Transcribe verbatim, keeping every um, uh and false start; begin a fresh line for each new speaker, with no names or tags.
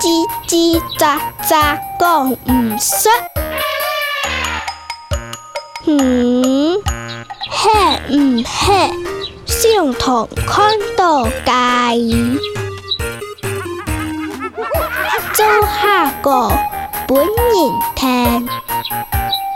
叽叽喳喳讲唔出。嗯，吃唔吃，上堂看到介。做下个本人听。